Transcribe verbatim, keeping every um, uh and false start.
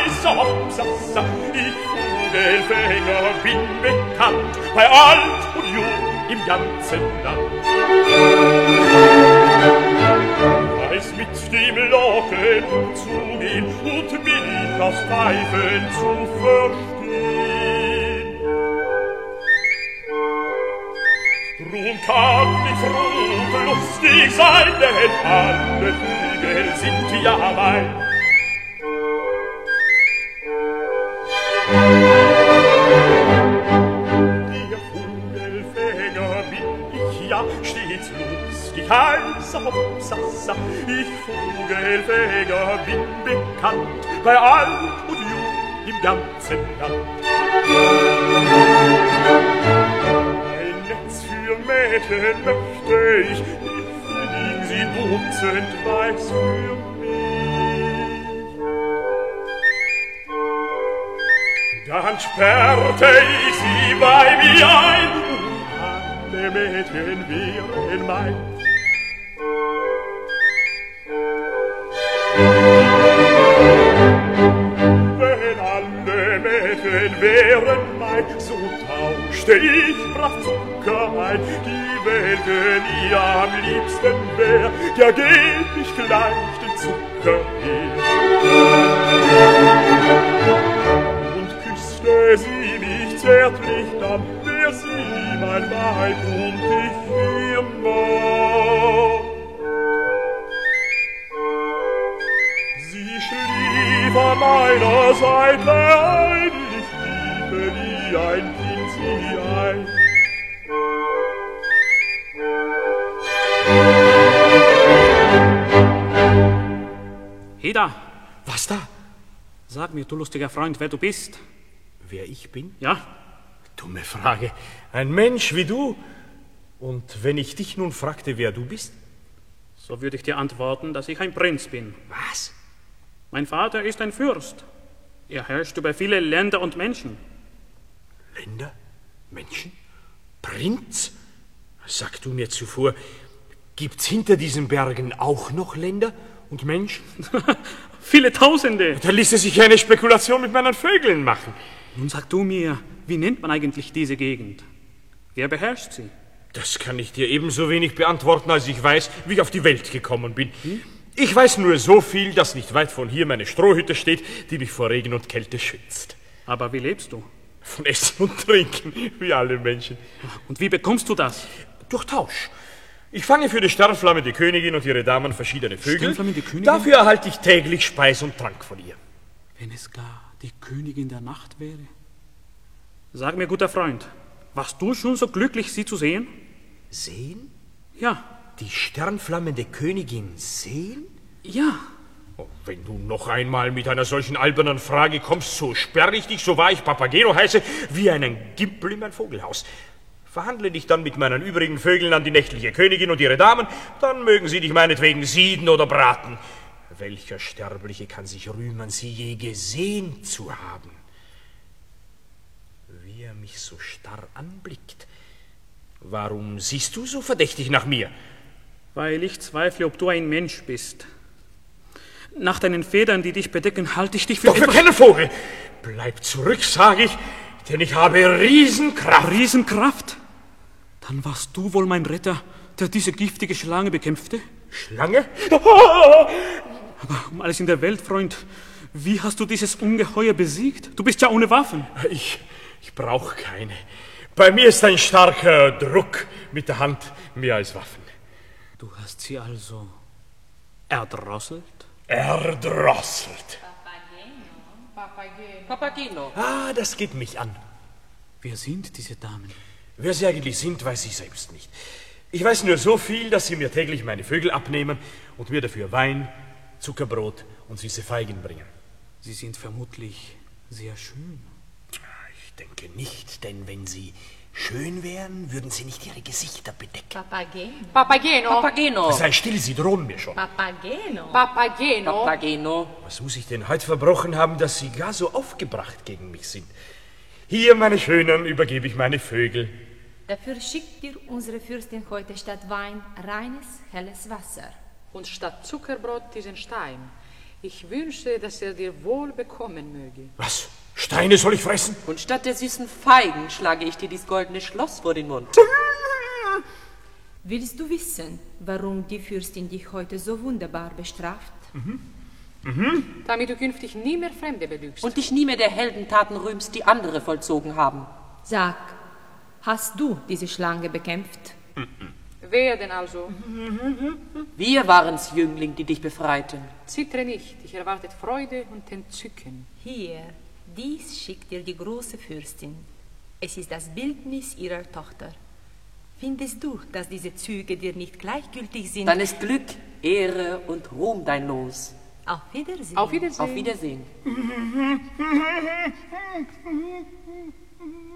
heißer Hopsasa. Ich Vogelfänger bin bekannt, bei alt und jung im ganzen Land. Weiß mit dem Locken umzugehen und mich aufs Pfeifen zu verstehen. Drum kann ich froh und lustig sein, denn alle Vögel sind ja mein. Der Vogelfänger bin ich ja stets lustig, heißer Hopsasa. Ich Vogelfänger bin bekannt, bei alt und jung im ganzen Land. Ein Netz für Mädchen möchte ich, ich fliegen sie dutzend weiß für mich. Dann sperrte ich sie bei mir ein, und alle Mädchen wären mein. Wenn alle Mädchen wären mein, so tauschte ich brav Zucker ein. Die Welke mir am liebsten wär, der geb ich gleich den Zucker her. Küsste sie mich zärtlich, dann wär sie mein Weib und ich ihr Mann. Sie schlief an meiner Seite ein, ich liebe wie ein Kind sie ein. Heda! Was da? Sag mir, du lustiger Freund, wer du bist. Wer ich bin? Ja? Dumme Frage. Ein Mensch wie du. Und wenn ich dich nun fragte, wer du bist? So würde ich dir antworten, dass ich ein Prinz bin. Was? Mein Vater ist ein Fürst. Er herrscht über viele Länder und Menschen. Länder? Menschen? Prinz? Sag du mir zuvor, gibt's hinter diesen Bergen auch noch Länder und Menschen? Viele Tausende. Da ließe sich eine Spekulation mit meinen Vögeln machen. Nun sag du mir, wie nennt man eigentlich diese Gegend? Wer beherrscht sie? Das kann ich dir ebenso wenig beantworten, als ich weiß, wie ich auf die Welt gekommen bin. Hm? Ich weiß nur so viel, dass nicht weit von hier meine Strohhütte steht, die mich vor Regen und Kälte schützt. Aber wie lebst du? Von Essen und Trinken, wie alle Menschen. Und wie bekommst du das? Durch Tausch. Ich fange für die sternflammende Königin und ihre Damen verschiedene Vögel. Sternflammende Königin? Dafür erhalte ich täglich Speis und Trank von ihr. Wenn es gar die Königin der Nacht wäre? Sag mir, guter Freund, warst du schon so glücklich, sie zu sehen? Sehen? Ja. Die sternflammende Königin sehen? Ja. Oh, wenn du noch einmal mit einer solchen albernen Frage kommst, so sperre ich dich, so wahr ich Papageno heiße, wie einen Gimpel in mein Vogelhaus. Verhandle dich dann mit meinen übrigen Vögeln an die nächtliche Königin und ihre Damen, dann mögen sie dich meinetwegen sieden oder braten. Welcher Sterbliche kann sich rühmen, sie je gesehen zu haben? Wie er mich so starr anblickt. Warum siehst du so verdächtig nach mir? Weil ich zweifle, ob du ein Mensch bist. Nach deinen Federn, die dich bedecken, halte ich dich für... Doch für keinen Vogel! Bleib zurück, sage ich, denn ich habe Riesenkraft. Riesenkraft? Dann warst du wohl mein Retter, der diese giftige Schlange bekämpfte? Schlange? Aber um alles in der Welt, Freund, wie hast du dieses Ungeheuer besiegt? Du bist ja ohne Waffen. Ich, ich brauche keine. Bei mir ist ein starker Druck mit der Hand mehr als Waffen. Du hast sie also erdrosselt? Erdrosselt. Papageno. Papageno. Ah, das geht mich an. Wer sind diese Damen? Wer sie eigentlich sind, weiß ich selbst nicht. Ich weiß nur so viel, dass sie mir täglich meine Vögel abnehmen und mir dafür Wein, Zuckerbrot und süße Feigen bringen. Sie sind vermutlich sehr schön. Ich denke nicht, denn wenn sie schön wären, würden sie nicht ihre Gesichter bedecken. Papageno. Papageno. Papageno. Sei still, sie drohen mir schon. Papageno. Papageno. Papageno. Was muss ich denn heute verbrochen haben, dass sie gar so aufgebracht gegen mich sind? Hier, meine Schönen, übergebe ich meine Vögel. Dafür schickt dir unsere Fürstin heute statt Wein reines, helles Wasser. Und statt Zuckerbrot diesen Stein. Ich wünsche, dass er dir wohl bekommen möge. Was? Steine soll ich fressen? Und statt der süßen Feigen schlage ich dir dies goldene Schloss vor den Mund. Willst du wissen, warum die Fürstin dich heute so wunderbar bestraft? Mhm. Mhm. Damit du künftig nie mehr Fremde belügst. Und dich nie mehr der Heldentaten rühmst, die andere vollzogen haben. Sag, hast du diese Schlange bekämpft? Mhm. Wer denn also? Wir waren's, Jüngling, die dich befreiten. Zittere nicht, dich erwartet Freude und Entzücken. Hier, dies schickt dir die große Fürstin. Es ist das Bildnis ihrer Tochter. Findest du, dass diese Züge dir nicht gleichgültig sind? Dann ist Glück, Ehre und Ruhm dein Los. Auf Wiedersehen. Auf Wiedersehen. Auf Wiedersehen.